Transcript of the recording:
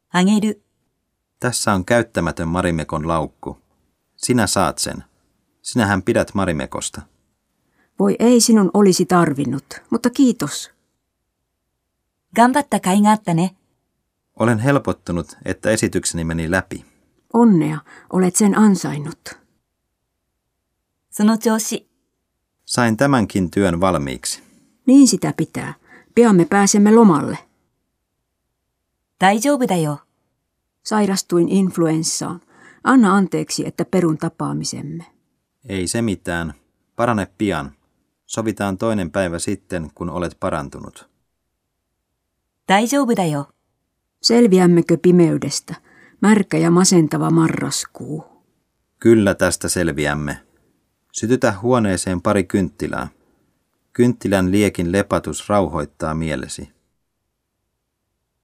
あげる。 Tässä on käyttämätön Marimekon laukku. Sinä saat sen. Sinähän pidät Marimekosta. Voi ei sinun olisi tarvinnut, mutta kiitos. 頑張った甲斐があったね。 Olen helpottunut, että esitykseni meni läpi. Onnea, olet sen ansainnut. その調子。 Sain tämänkin työn valmiiksi. Niin sitä pitää. Pian me pääsemme lomalle. 大丈夫だよ。 Sairastuin influenssaan. Anna anteeksi, että perun tapaamisemme. Ei se mitään. Parane pian. Sovitaan toinen päivä sitten, kun olet parantunut. 大丈夫だよ。 Selviämmekö pimeydestä? Märkä ja masentava marraskuu. Kyllä tästä selviämme. Sytytä huoneeseen pari kynttilää. Kynttilän liekin lepatus rauhoittaa mielesi.